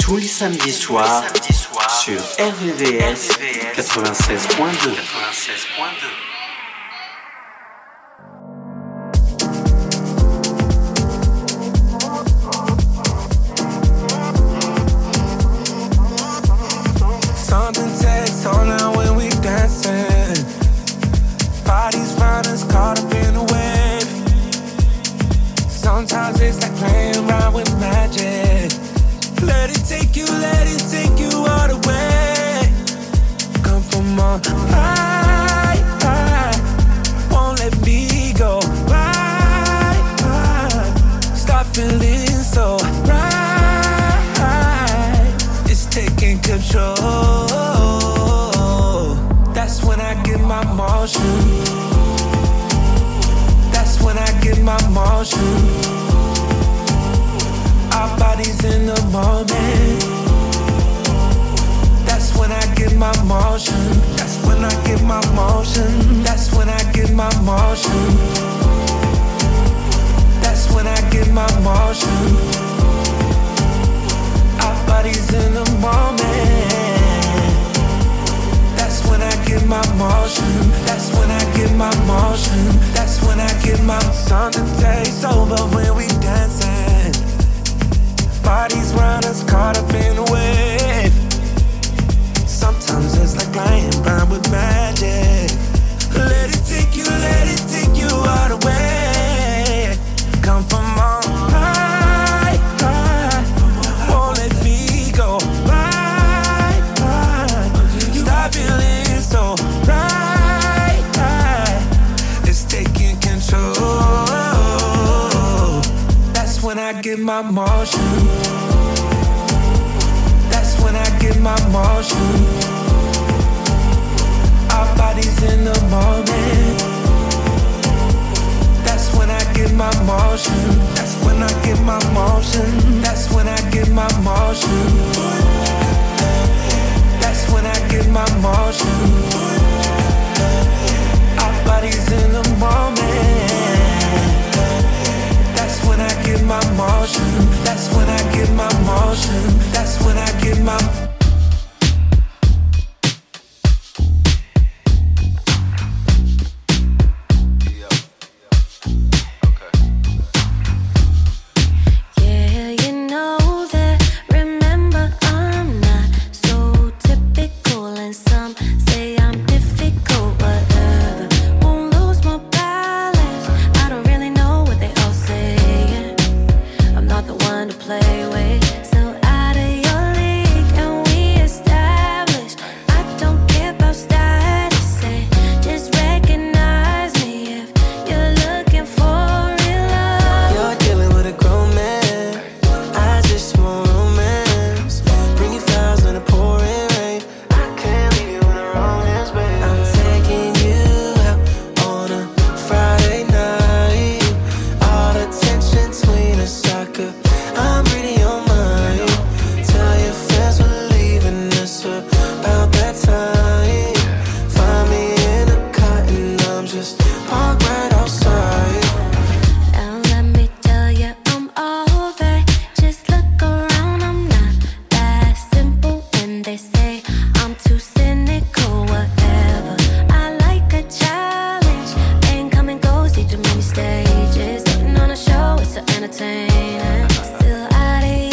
Tous les samedis soirs sur RVVS 96.2. Something takes on now when we dancing. Bodies round us caught up in a wave. Sometimes it's like playing around with magic. Let it take you all the way. Come from on high, won't let me go. Right, start feeling so right. It's taking control. That's when I get my motion. That's when I get my motion. Our bodies in the moment. That's when I get my motion. That's when I get my motion. That's when I get my motion. That's when I get my motion. Our bodies in the moment. That's when I get my motion. That's when I get my motion. That's when I get my. Something takes over when we dancing. Bodies round us caught up in a wave. Sometimes it's like playing around with magic. Let it take you all the way. Come from on high, won't let me go. Right, stop feeling so right. It's taking control. That's when I get my motion. That's when I get my motion. Our bodies in the moment. That's when I get my motion. That's when I get my motion. That's when I get my motion. That's when I get my motion. Our bodies in the moment. That's when I get my motion. That's when I get my motion. That's when I get my. Play with, so out of your league. entertaining. Still out of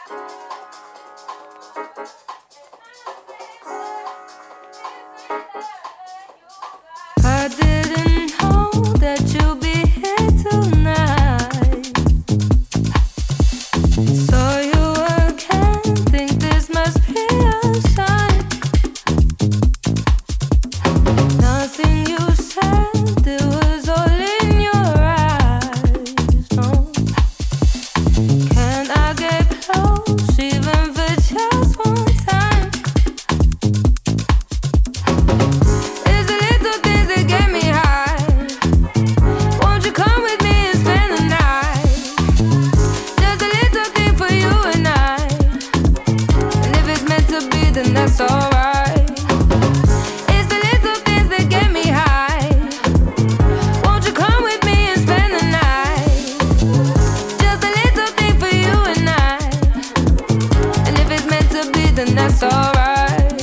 I didn't know that you'd be here tonight. Saw you again, think this must be a sign. Nothing you said, it was all in your eyes. No, can I get close, even for just one time? It's the little things that get me high. Won't you come with me and spend the night? Just a little thing for you and I. And if it's meant to be, then that's alright. It's the little things that get me high. Won't you come with me and spend the night? Just a little thing for you and I. And if it's meant to be, then that's alright.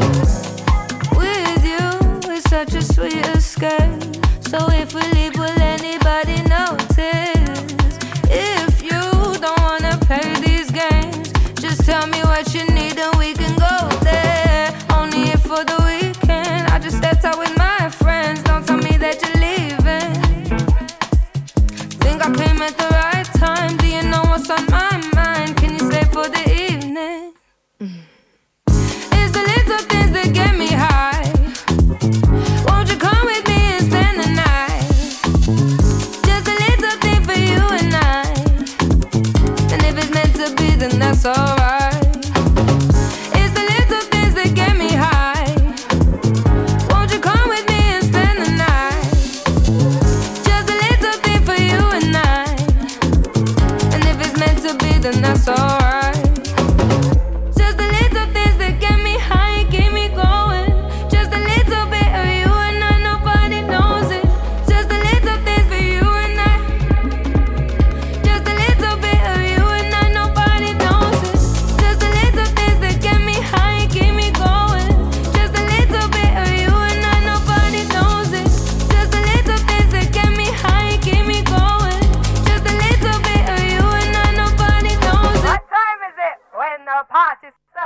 With you, it's such a sweet escape. So if we leave, will anybody notice? If you don't wanna play these games, just tell me what you need and we can go there. Only if for the weekend, I just stepped out with my friends. Don't tell me that you're leaving. Think I came at the right time. Do you know what's on my mind? Can you stay for the evening? It's the little things that get me high. Won't you come with me and spend the night? Just a little thing for you and I. And if it's meant to be, then that's alright. It's the little things that get me high. Won't you come with me and spend the night? Just a little thing for you and I. And if it's meant to be, then that's alright. Just the little things that get me high, keep me going. Just a little bit of you and I, nobody knows it. Just the little things for you and I. Just a little bit of you and I, nobody knows it. Just the little things that get me high, keep me going. Just a little bit of you and I, nobody knows it. Just the little things that get me high, keep me going. Just a little bit of you and I, nobody knows it. What time is it when the party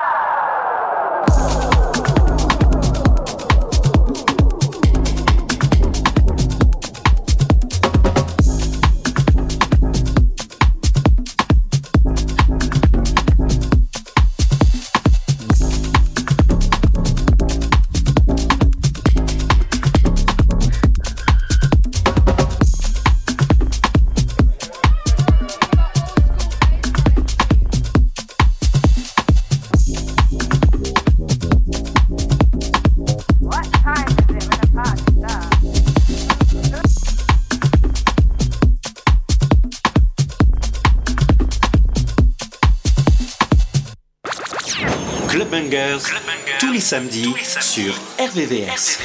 Club Bangers, tous les samedis sur RVVS.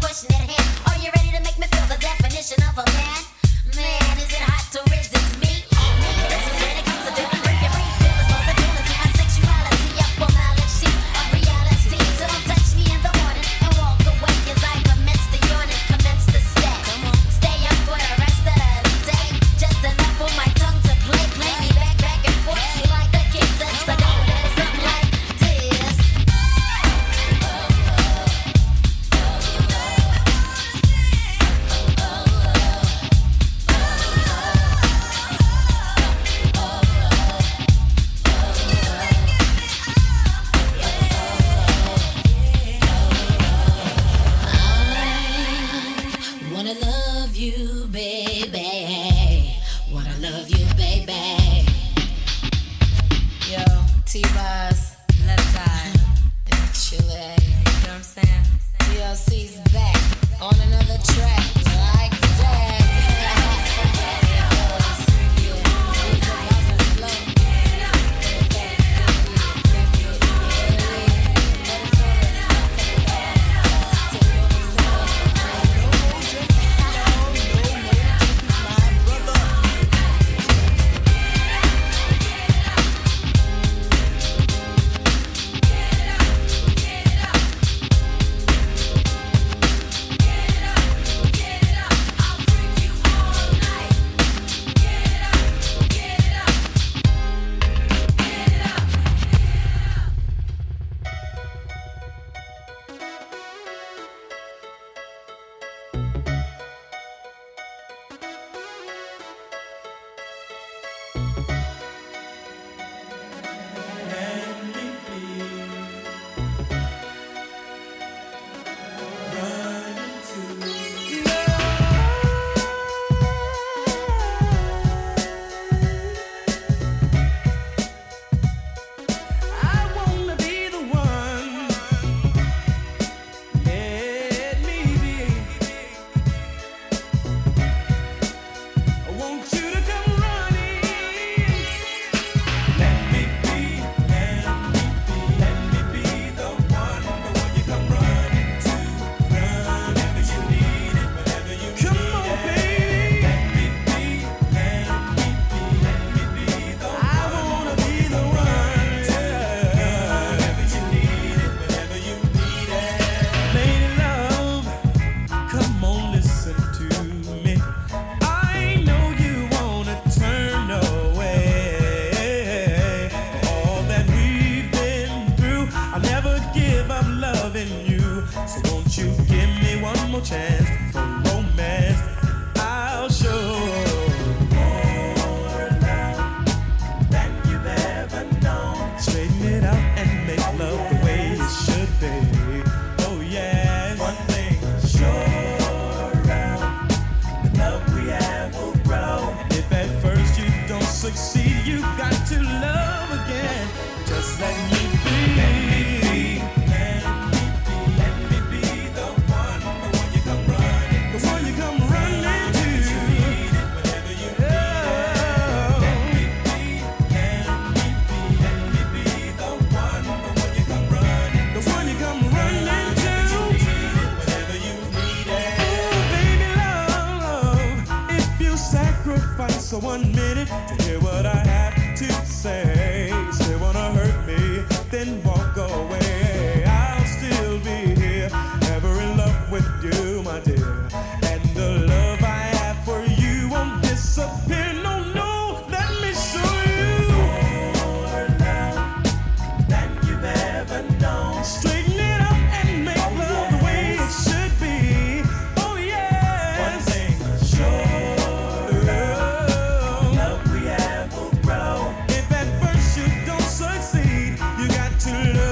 question at hand. Are you ready to make me feel the definition of a man? Man, is it hot to resist me? This is when it comes to feeling free. Your free responsibility, my sexuality, a formality, a reality. So don't touch me in the morning and walk away as I commence to yawn and commence to stay. Stay up for the rest of the day. Just enough for my tongue to play me back and forth like a kid says. So don't let it something like this. Wanna love you, baby. Wanna love you, baby. Yo, T-Boss, left time. Chile. You know what I'm saying? TLC's back on another track like that. I wanna be the one. Let me be. I want you to come running. Let me be the one you come running to. Whenever you need it, whenever you come on, baby. Let me be the one. I wanna be the one. Whenever you need it, whenever you need it. Lady love, come on, listen to me. I know you wanna turn away. All that we've been through, I'll never give up loving you. So won't you give me one more chance for romance? I'll show more love than you've ever known. Straighten it out and make love the way it should be. Oh yeah. One thing sure of, the love we have will grow. And if at first you don't succeed, you got to love again. Just let me be. Let me be the one you come running. The one you come running to. Whenever you need it. Let me be the one you come running. The one you come running to. Whenever you need it. Oh, baby love, if you sacrifice 1 minute to hear what I have to say, still wanna hurt me, then walk away. I'll still be here, ever in love with you, my dear. And the love I have for you won't disappear. No, no, let me show you more love than you've ever known. Straighten it up and make love the way it should be. Oh yeah. One thing sure, love we have will grow. If at first you don't succeed, you got to love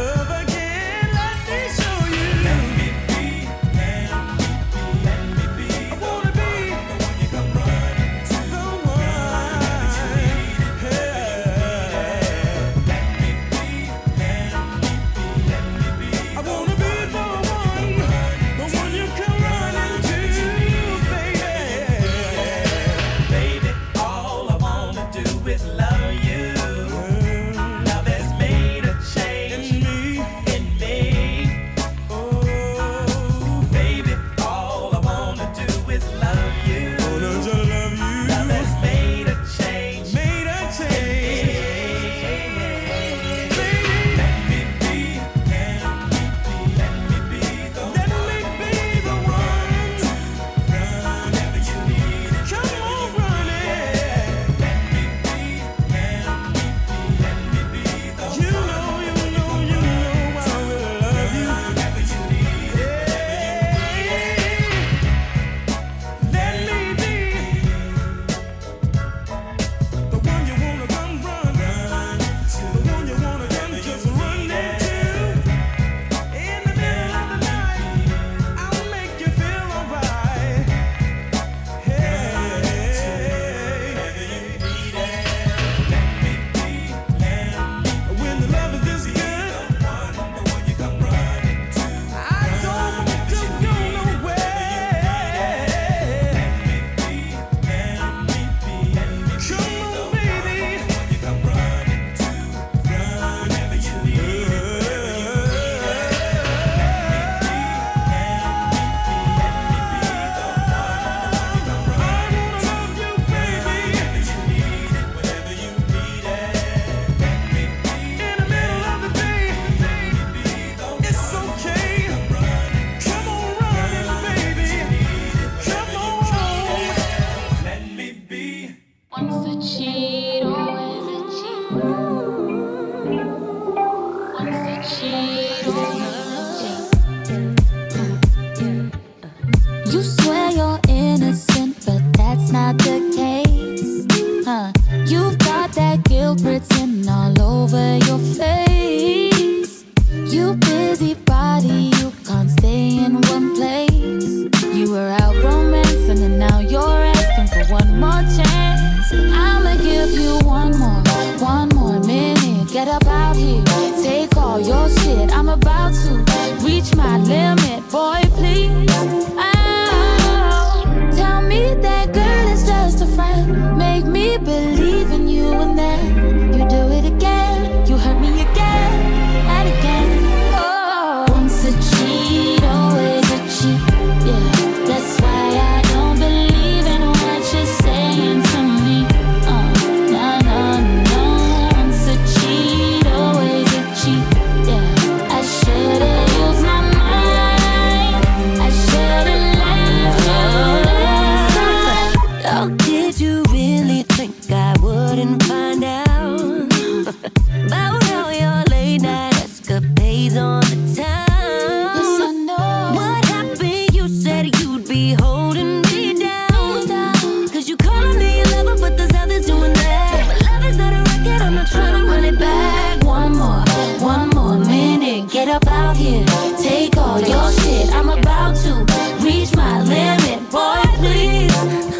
get up out here, take all your shit. I'm about to reach my limit, boy, please. Oh, tell me that girl is just a friend. Make me believe in you and then you do it again. You hurt me again and again. Oh, once a cheat, always a cheat. Yeah, that's why I don't believe in what you're saying to me. No, no, no. Once a cheat, always a cheat. Yeah, I should've used my mind. I should've left you last time. Oh, did you really think I wouldn't find out about all your late night escapades on the town? Yes, I know. What happened? You said you'd be holding me down. Cause you calling me a lover, but there's others doing that. My love is not a record, I'm not trying to run it back. One more minute, get up out here, take all your shit. I'm about to reach my limit, boy, please.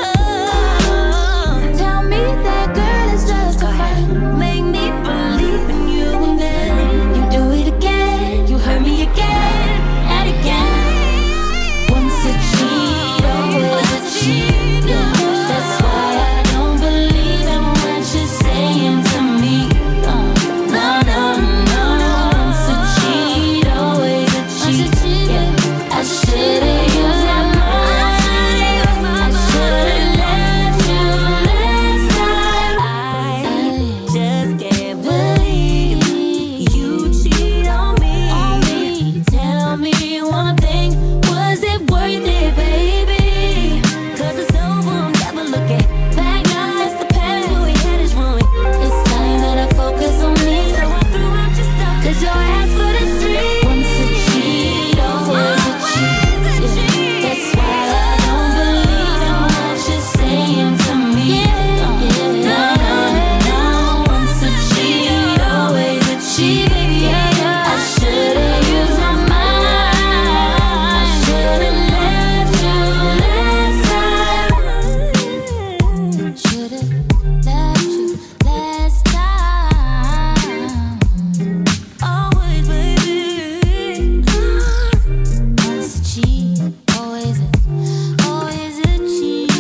Tell me that girl is just a friend. Make me believe in you and then You do it again, you hurt me again and again. Once a cheat, always a cheat. Yeah, that's why I don't believe in what you're saying to me. No, no, no. Once a cheat, always a cheat. Yeah, I should've used my mind. I should've left you last time. I just can't believe you cheat on me. Tell me one thing, was it worth it, baby? Cause it's over, I'm never looking back now. It's the past, what we had is ruined. It's time that I focus on me. So I threw out your stuff, Cause your ass for the street. Once a cheat, always a cheat. Yeah, that's why I don't believe in what you're saying to me. No, no, no. Once a cheat, always a cheat. I should've used my mind. I should've left you last time. Should've left you last time. always, baby. Once a cheat, always a cheat.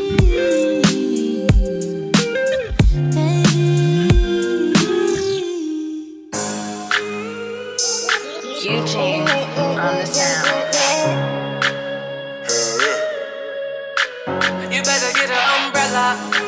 Eugene on the sound. You better get an umbrella.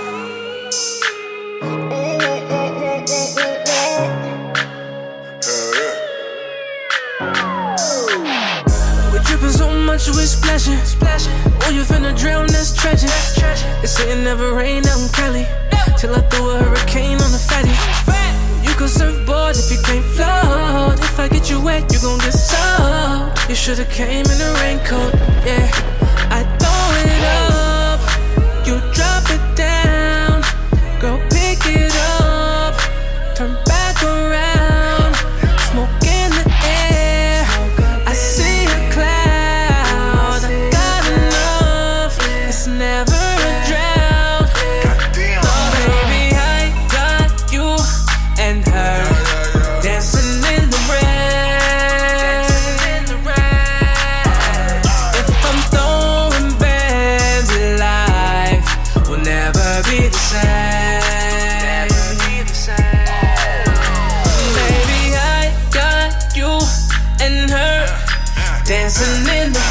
We dripping so much, we splashing. Oh, you finna drown, that's tragic. They say it never rain out in Cali. Till I throw a hurricane on the fatty. You can surfboard if you can't float. If I get you wet, you gon' get soaked. You should've came in a raincoat, yeah. I throw it up, you drop it down. Girl, pick it up, turn back around. Smoke in the air, I see a cloud. I got enough, it's never a drought. Oh baby, I got you and her dancing in the rain. If I'm throwing bands, life will never be the same. Baby, I got you and her dancing in the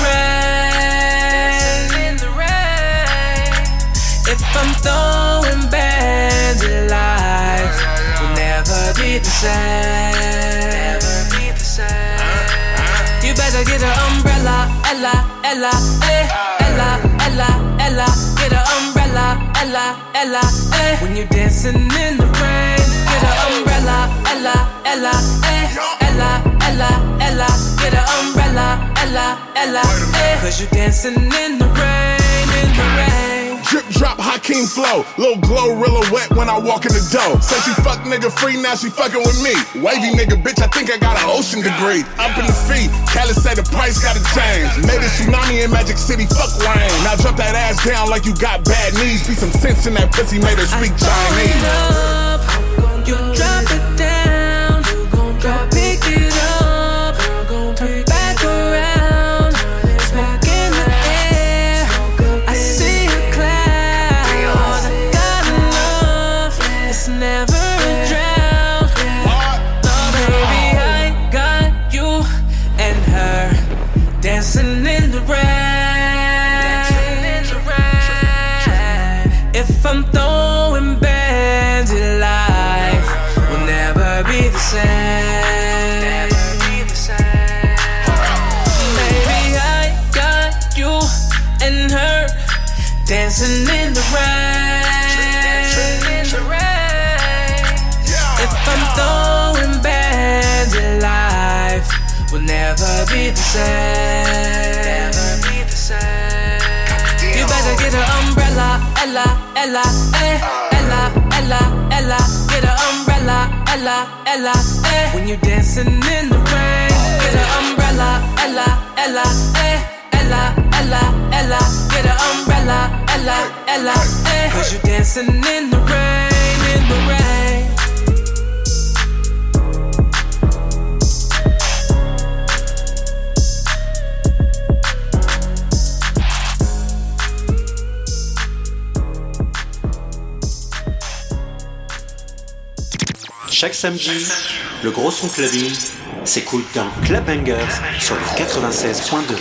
rain. If I'm throwing bands, life will never be the same. You better get an umbrella, Ella, Ella, eh, Ella, Ella, Ella. Get an umbrella, Ella, Ella, eh. When you're dancing in the rain, get an umbrella, Ella, Ella, eh, Ella, Ella, Ella. Get an umbrella, Ella, Ella, eh. Cause you're dancing in the rain, in the rain. Drip drop Hakeem flow, little Glorilla wet when I walk in the door. Say she fuck nigga free, now she fucking with me. Wavy nigga, bitch, I think I got an ocean degree. Up in the feet, Cali say the price gotta change. Made a tsunami in Magic City, fuck rain. Now drop that ass down like you got bad knees. Be some sense in that pussy, made her speak Chinese. You drop it down. and her dancing in the rain. If I'm throwing bands in life, will never be the same. You better get an umbrella, Ella, Ella, eh, Ella, Ella, Ella. Get an umbrella, Ella, Ella, eh. When you dancing in the rain, get an umbrella, Ella, Ella, eh, Ella, Ella, Ella. Get an umbrella, Ella, Ella, eh. 'Cause you dancing in the rain, in the rain. Chaque samedi, le gros son clubbing s'écoute dans Club Bangers sur le 96.2.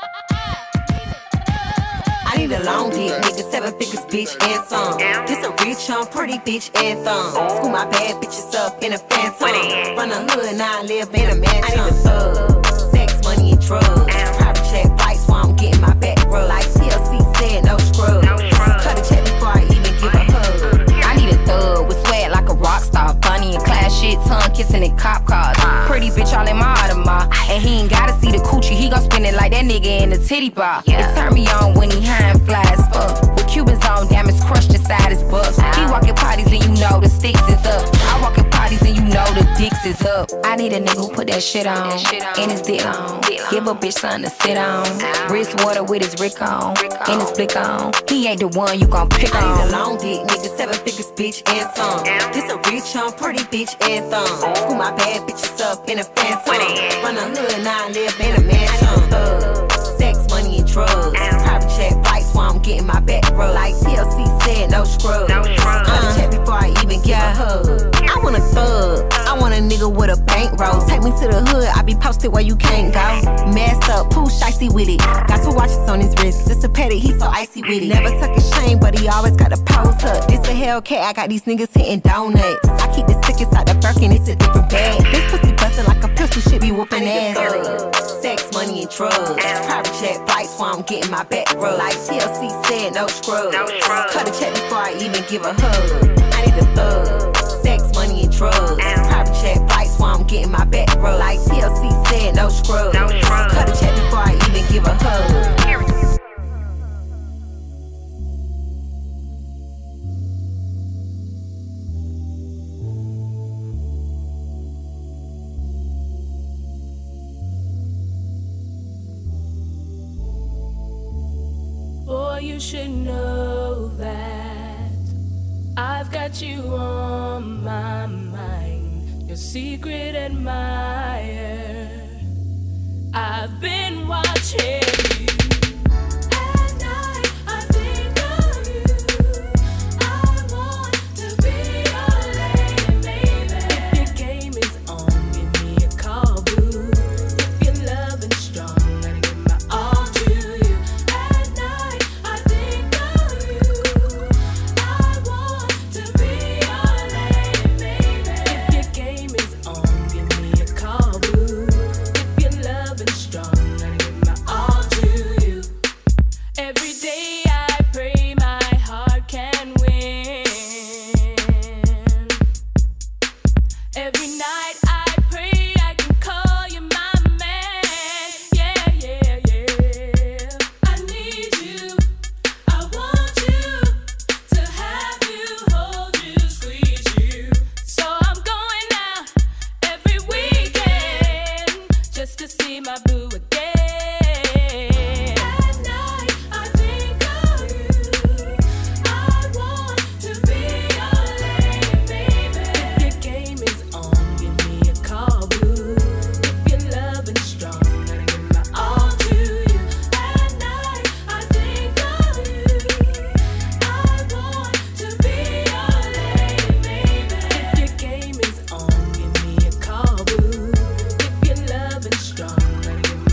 I need a long dick, nigga, 7 figures, bitch, and some. This a rich, pretty bitch, and thumb. School my bad bitches up in a phantom. Run a hood, now I live in a mansion. I need a thug, sex, money, and drugs. Private jet flights while I'm getting my back rubbed. Like TLC said, no scrubs. Cut a check before I even give a hug. I need a thug with swag like a rock star. Bunny and class shit, tongue kissing in cop cars. Pretty bitch all in my Audemars. And he ain't gotta see the coochie, he gon' spin it like that nigga in the titty bar. It turn me on when he high and fly as fuck. With Cubans on, diamonds crushed inside his bucks. He walking parties and you know the sticks is up. I walk in parties and you know the dicks is up. I need a nigga who put that shit on, and his dick on. Give a bitch something to sit on. Wrist water with his Rick on, and his blick on. He ain't the one you gon' pick on. I need a long dick, nigga, 7 figures, bitch, and some. This a rich, pretty bitch, and thumb. School my bad bitches up in a phantom. Run a hood, now I live in a mansion. Thug, sex, money, and drugs. Private jet flights while I'm getting my back rubbed. Like TLC said, no scrubs. Check before I even give a hug. I want a thug, I want a nigga with a bankroll. Take me to the hood, I be posted where you can't go. Masked up, poo shicey with it. Got 2 watches on his wrist, just a petty, he so icy with it. Never tuck his chain, but he always got a pose up. This a Hellcat, I got these niggas hitting donuts. I keep the stick inside the Birkin, it's a different bag. This pussy bustin' like a pistol, shit be whooping ass. Sex, money, and drugs. Private jet flights while I'm getting my back rubbed. Like TLC said, no scrubs. Cut a check before I even give a hug. I need a thug, sex, money, and drugs. Private jet flights while I'm getting my back rubbed. Like TLC said, no scrubs. Cut a check before I even give a hug. Boy, you should know that I've got you on my mind, your secret admirer. I've been watching you. At night, I think of you. I want to be your lady, baby. If your game is on, give me a call, boo. If you're loving strong, gotta give my all to you. At night, I think of you. I want to be your lady, baby. If your game is on, give me a call, boo. If you're loving strong, gotta give my all to you. Every day I pray my heart can win. Every night I pray I can call you my man. Yeah, yeah, yeah. I need you. I want you to have you, hold you, squeeze you. So I'm going out every weekend just to see my boo again. At night I think of you. I want to be your lady, baby. If your game is on, give me a call, boo. If you're loving strong, gotta give my all to you. At night I think of you. I want to be your lady, baby. If your game is on, give me a call, boo. If you're loving strong, gotta give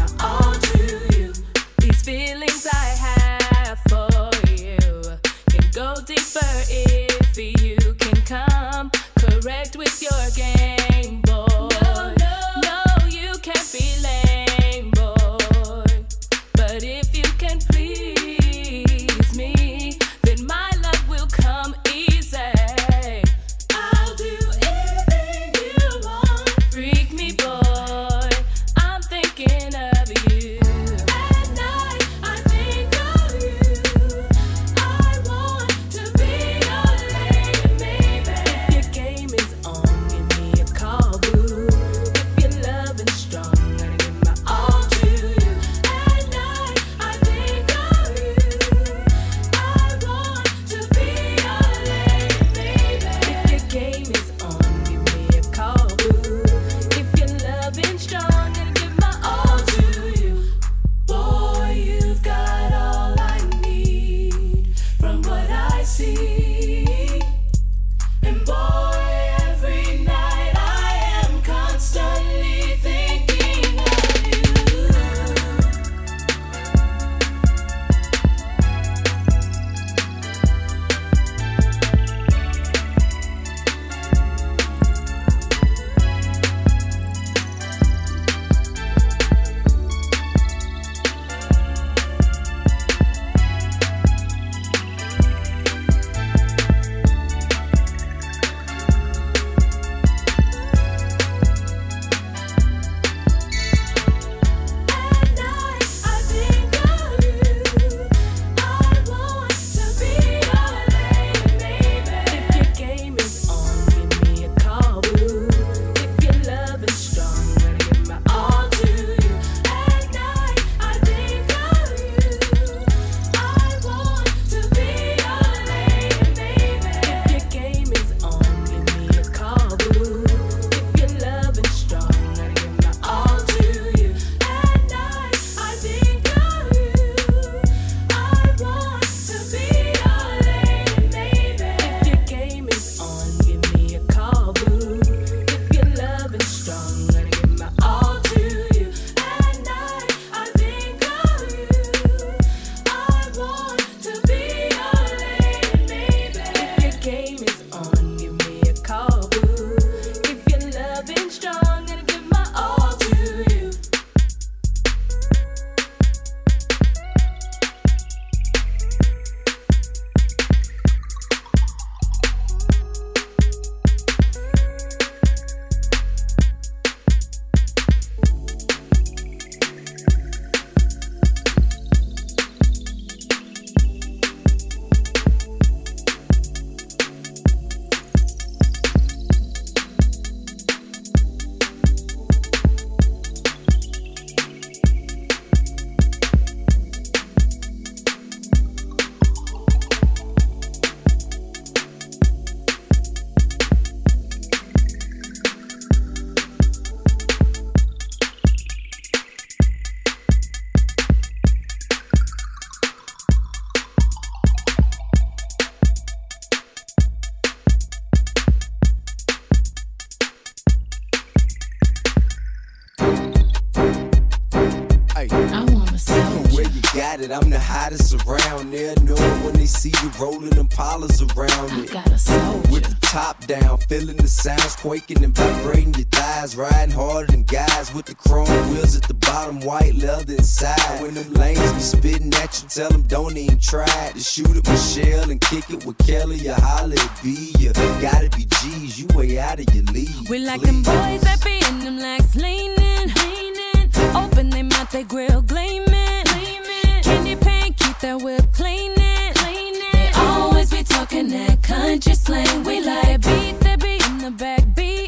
got it. I'm the hottest around. They'll know it when they see you rolling them Impalas around me. Got a soldier. With the top down, feeling the sounds quaking and vibrating your thighs. Riding harder than guys with the chrome wheels at the bottom, white leather inside. When them lanes be spitting at you, tell them don't even try to shoot at Michelle and kick it with Kelly or holla at B. You gotta be G's, you way out of your league. We like them boys that be in them legs leaning, open they mouth, they grill gleaming, candy paint, keep that whip cleaning. They always be talking that country slang. We like beat that be in the back beating.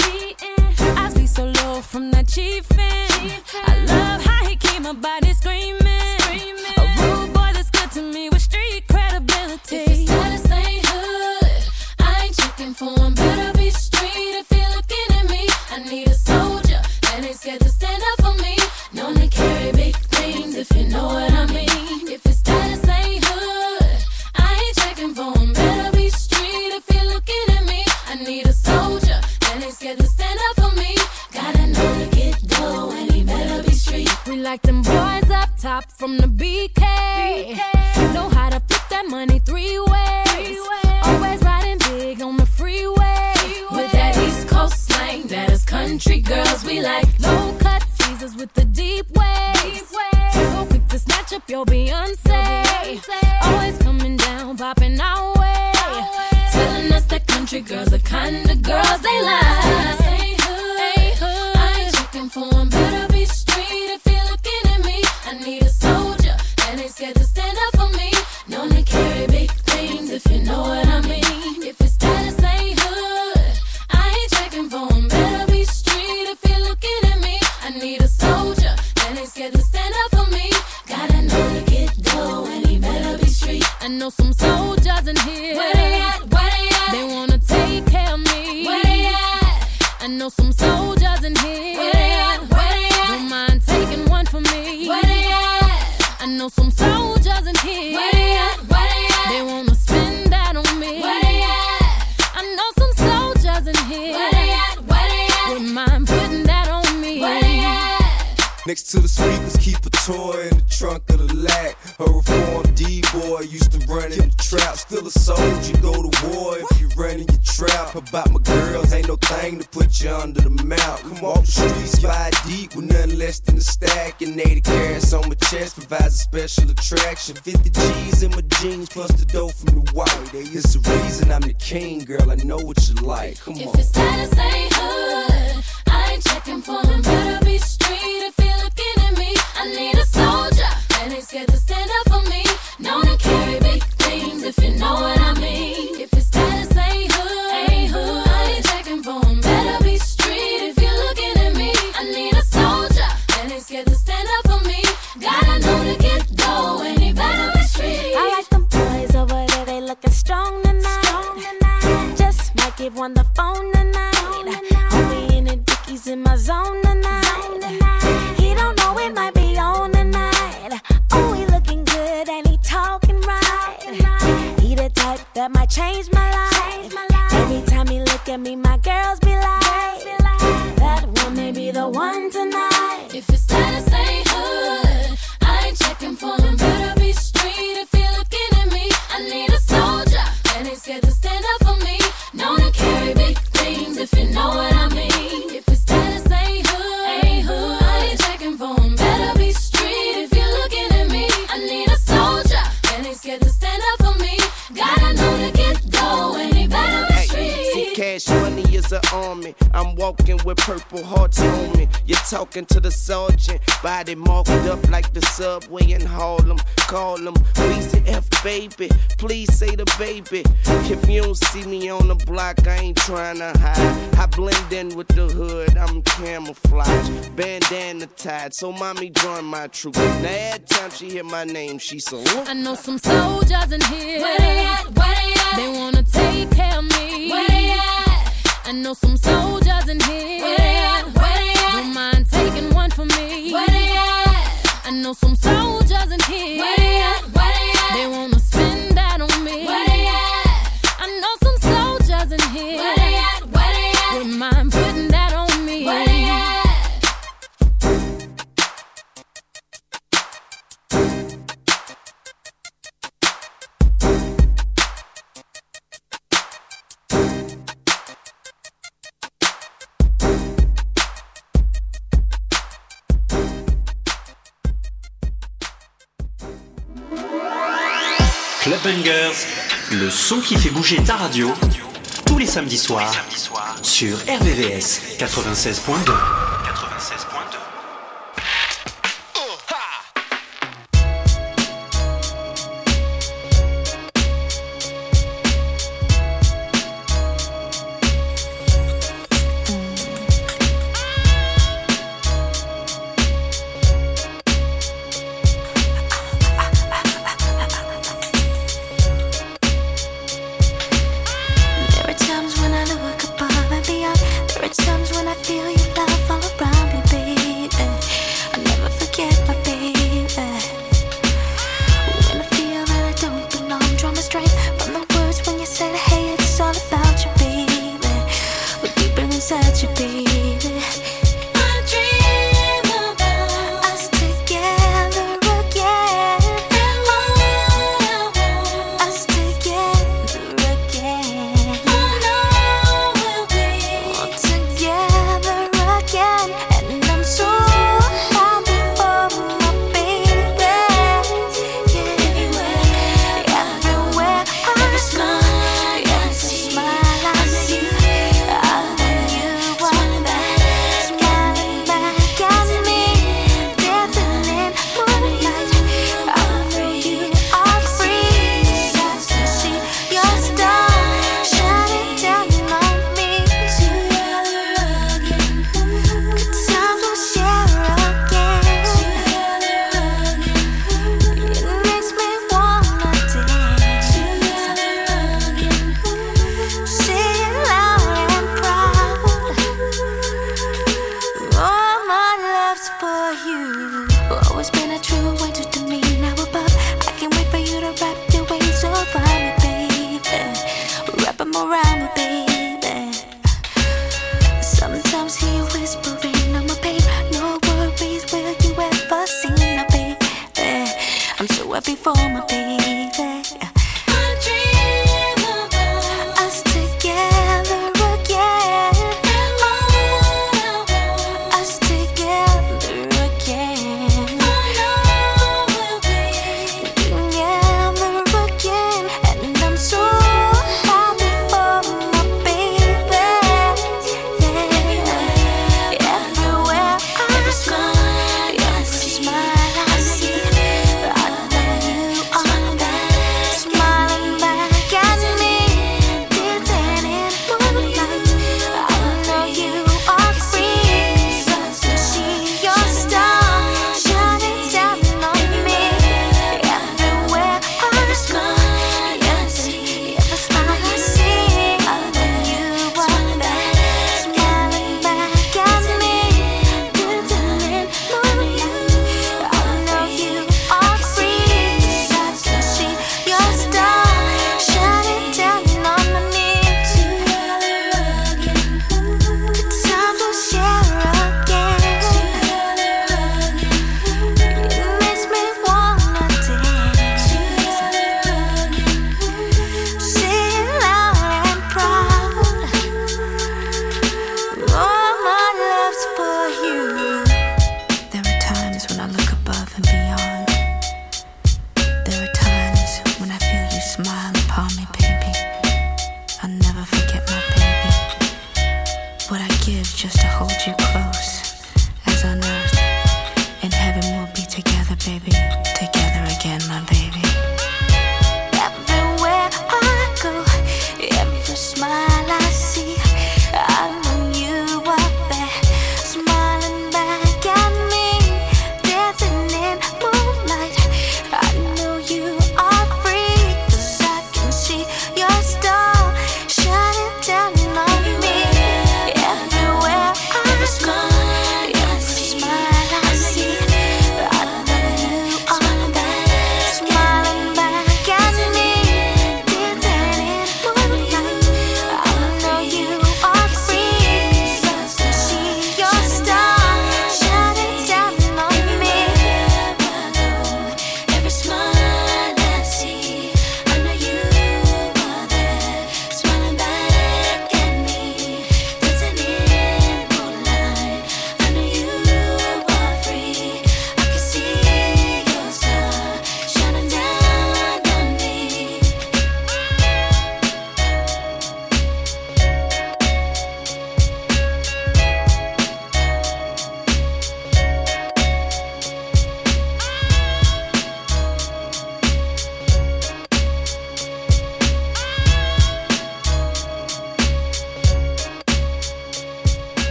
I be so low from that chiefin'. I love how he keep my body screaming. A rude boy that's good to me with street credibility. If his status ain't hood, I ain't checking for him. Better be street if you're looking at me. I need a soldier that ain't scared to stand up for me. Known to carry big things if you know what I mean. If his status ain't hood, I ain't checking for him. Better be street if you're looking at me. I need a soldier that ain't scared to stand up for me. Gotta know to get dough and he better be street. We like them boys up top from the BK. Know how to flip that money three ways. Always riding big on the freeway. With that East Coast slang, that is country girls. We like low cut teasers with the deep waves. So quick to snatch up your Beyonce. Always coming down, popping our way. telling us that country girls the kind of girls they like. Ain't hood, I ain't checking for 'em. Better be street if you're looking at me. I need a soldier that ain't scared to stand up for me. Known to carry big things if you know what I mean. If his status ain't hood, I ain't checking for 'em. Better be street if you're looking at me. I need a soldier that ain't scared to stand up for me. Gotta know to get dough and he better be street. I know some soldiers in here. Where they at? Where they at? They wanna take care of me. Where they at? I know some soldiers in here. Where they at? Where they at? Don't mind taking one for me. Where they at? I know some soldiers in here. Where they at? Where they at? They wanna spend that on me. Where they at? I know some soldiers in here. Where they at? Where they at? Wouldn't mind putting that on me. Where they at? Next to the speakers, keep a toy in the trunk of the lag. A reformed D-boy used to run in the trap. Still a soldier, go to war if you run in your trap. About my girls, ain't no thing to put you under the mount. Come off the streets, ride deep with nothing less than a stack. And 80 carats on my chest provides a special attraction. 50 G's in my jeans plus the dough from the white. It's the reason I'm the king, girl, I know what you like. Come on. If his status ain't hood, I ain't checking for him. Better be street if you're looking at me. I need a soldier that ain't scared to stand up for me. Known to carry big things if you know what I mean. If his status ain't hood, I ain't checking for him. Better be street if you're looking at me. I need a soldier that ain't scared to stand up for me. Gotta know to get dough and he better be street. I like them boys over there, they looking strong tonight. Just might give one the phone tonight. Homie in the dickies in my zone tonight. He don't know it might be on tonight. Oh, he looking good and he talking right. He the type that might change my life. Every time he look at me, my girls be like, that one may be the one tonight. If his status ain't hood, I ain't checking for him. Better be street if you're looking at me. I need a soldier that ain't scared to stand up for me. Known to carry big things if you know what I mean. If his status ain't hood, I ain't checking for him. Better be street if you're looking at me. I need a soldier that ain't scared to stand up for me. Gotta know to get dough and he better be street. See, cash money is an army. I'm walking with purple hearts on me. You're talking to the sergeant, body marked up like the subway in Harlem. Call him Weezy F, baby. Please say the baby. If you don't see me on the block, I ain't trying to hide. I blend in with the hood, I'm camouflage. Bandana tied, so mommy join my troop. Now every time she hear my name, she so. I know some soldiers in here. Where they at? Where they at? They wanna take care of me. Where they at? I know some soldiers in here. Where they at? Where they at? Don't mind taking one for me. Where they at? I know some soldiers in here. Where they at? Where they at? They wanna spend that on me. Where they at? I know some soldiers in here. Where they at? Where they at? Wouldn't mind putting that on me. Where they at? Club Bangers, le son qui fait bouger ta radio, tous les samedis soirs, sur RVVS 96.2. Again.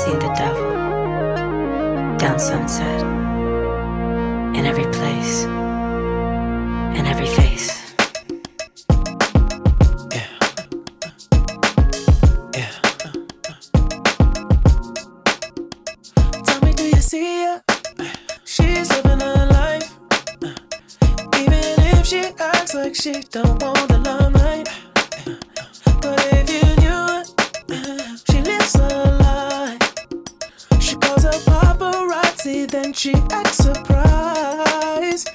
seen the devil down Sunset, in every place, in every face. Tell me, do you see her? She's living her life. Even if she acts like she don't want the limelight. But if you knew it, she lives her life. She calls her paparazzi, then she acts surprised.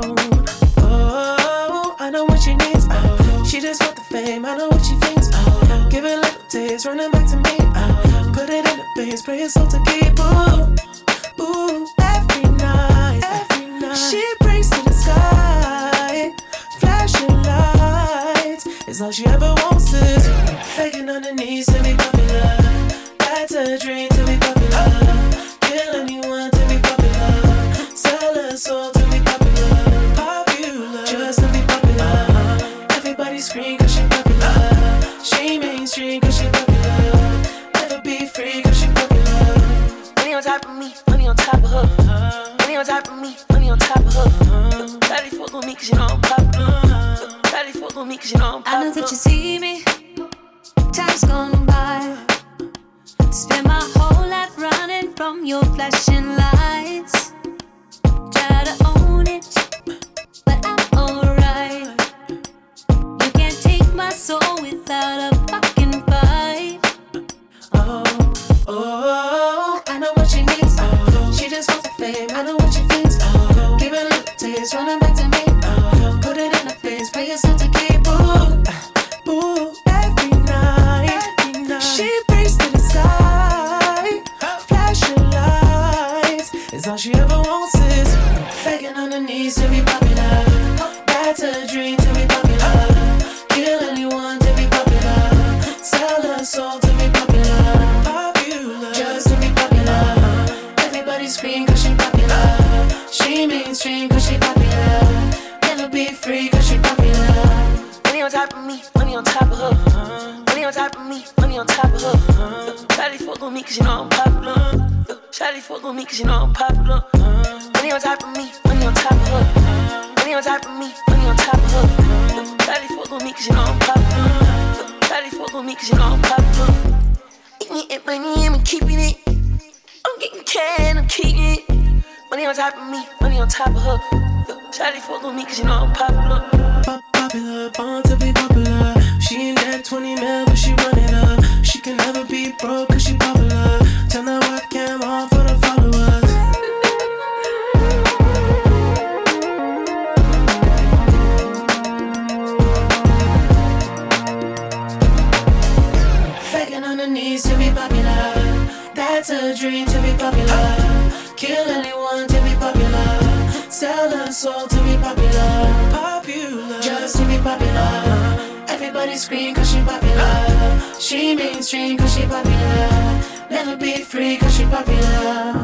Oh, I know what she needs. She just want the fame, I know what she thinks. Give it little taste, running back to me. Put it in the base, pray it's all to keep. Ooh, every night. She brings to the sky, flashing lights. It's all she ever wants is begging on her knees to be popular. That's her dream, to be popular. Kill anyone to be popular. Sell her soul to be popular. Popular, just to be popular. Everybody scream cause she popular. She mainstream cause she popular. Never be free cause she popular. Money on top of me, money on top of her. Money on top of me, money on top of her. Daddy fuck with me cause you know I'm popular. Daddy fuck with me cause you know I'm popular. I know that you see me, time's gone by. Spend my whole life running from your flashing lights. Try to own it, but I'm alright. You can't take my soul without a fucking fight. Oh, I know what she needs. She just wants the fame, I know what she thinks. Give it a little taste, running back to me. Put it in her face, pay yourself to keep. Ooh, every night. She brings to the sky, flashing lights. It's all she ever wants is begging on her knees to be popular. That's her dream, to be popular. Kill anyone to be popular. Sell her soul to be popular. Popular, just to be popular. Everybody scream cause she popular. She mainstream cause she popular. Never be free cause she popular. Money on top of me, money on top of her. Money on top of me, money on top of her. Shawty fuck with me cause you know I'm popular. Shawty fuck with me cause you know I'm popular. Money on top of me, money on top of her. Money on top of me, money on top of her. Shawty fuck with me cause you know I'm popular. Shawty fuck with me cause you know I'm popular. Eating money, I'm keeping it. I'm getting cash, I'm keeping it. Money on top of me, money on top of her. Shawty fuck with me cause you know I'm popular. Popular, born to be popular. She ain't that 20 mil, but she run it up. She can never be broke cause she popular. Turn that webcam on for the followers. Begging on her knees to be popular. That's her dream, to be popular. Kill anyone to be popular. Sell her soul to be popular. Popular, just to be popular. Everybody scream cause she popular. She mainstream cause she popular. Never be free cause she popular.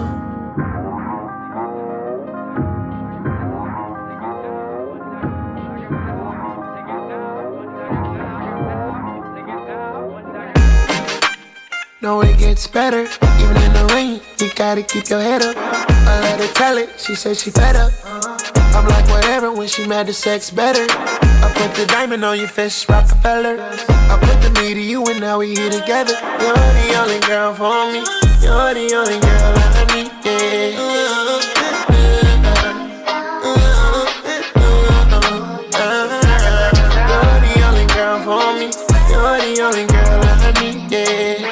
No, it gets better, even in the rain. You gotta keep your head up. I let her tell it, she said she fed up. I'm like whatever, when she mad the sex better. I put the diamond on your fist, Rockefeller. I put the me to you and now we here together. You're the only girl for me. You're the only girl I need, yeah. You're the only girl for me. You're the only girl I need, yeah.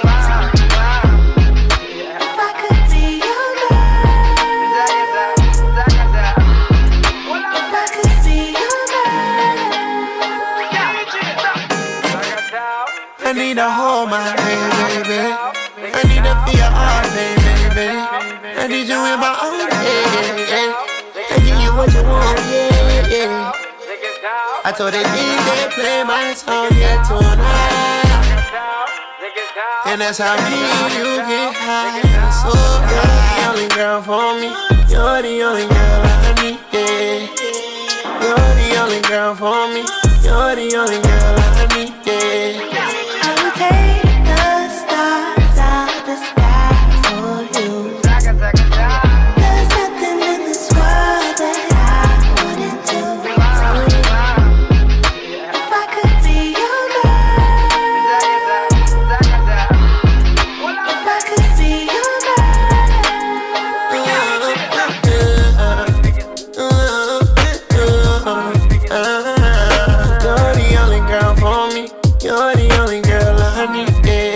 I need to hold my hand, baby. I need to feel your heart, baby. I need you in my arms, yeah. I give you what you want, yeah. I told the DJ play my song, yeah, tonight. And that's how me and you get high. So you're the only girl for me. You're the only girl I need, yeah. You're the only girl for me. You're the only girl I need, yeah. I will take the stars out of the sky for You're the only girl I need.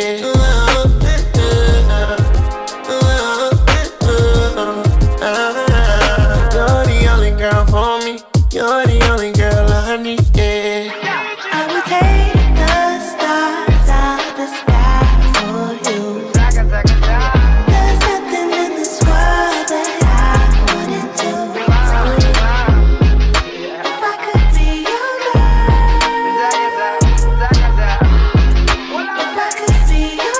You're the only girl for me. You're the only girl I need. I will take the stars out of the sky for you. There's nothing in this world that I wouldn't do. If I could be your girl, if I could be your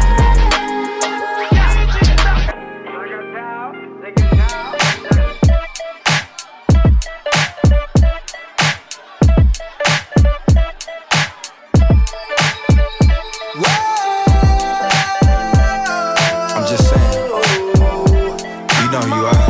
I'm just saying, you know who you are.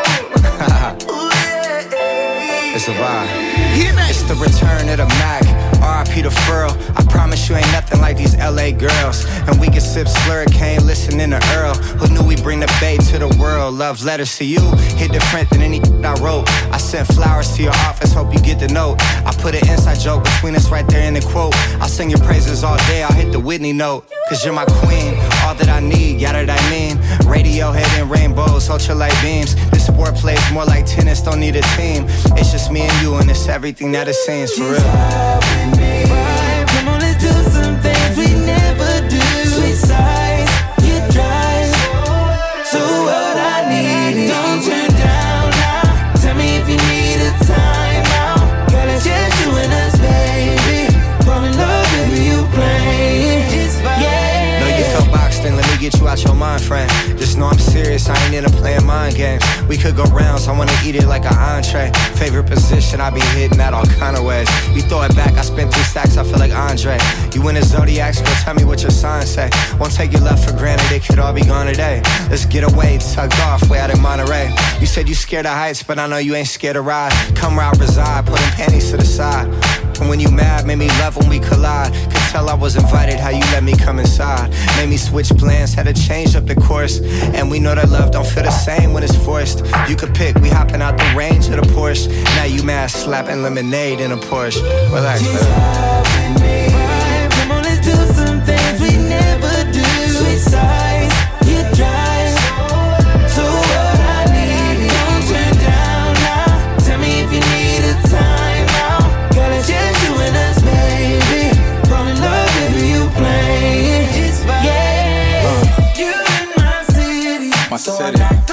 It's a vibe. It's the return of the Mac. R.I.P. the Furl. I promise you ain't nothing like these LA girls. And we can sip Slurricane, listening to Earl. Who knew we bring the bay to the world? Love letters to you hit different than any I wrote. I sent flowers to your office, hope you get the note. I put an inside joke between us right there in the quote. I'll sing your praises all day, I'll hit the Whitney note. Cause you're my queen, all that I need, yada that I mean. Radiohead and rainbows, ultralight beams. This sport plays more like tennis, don't need a team. It's just me and you and it's everything that it seems, for real. Come on, let's do some things we never do. Sweet sights, you drive. So what I need is don't turn down now. Tell me if you need a time out. Girl, it's just you and us, baby. Fall in love with you playing. Yeah. Know you feel boxed in, let me get you out your mind, friend. Just know I'm serious, I ain't into playing mind games. We could go rounds, I wanna eat it like an entree. Favorite position, I be hitting that all kind of ways. You throw it back, I spent 3 stacks, I feel like Andre. You in the Zodiacs, girl, tell me what your sign say. Won't take your love for granted, it could all be gone today. Let's get away, tucked off, way out in Monterey. You said you scared of heights, but I know you ain't scared to ride. Come where I reside, put them panties to the side. And when you mad, made me love when we collide. Could tell I was invited, how you let me come inside. Made me switch plans, had to change up the course. And we know that love don't feel the same when it's forced. You could pick, we hopping out the range of the Porsche. Now you mad, slapping lemonade in a Porsche. Relax, man. Come on, let's do some things we never do. Sweet sights, you drive. So what I need is don't turn down now. Tell me if you need a time out. Girl, it's just you and us, baby. Fall in love with you playing. Yeah. You in my city. My city.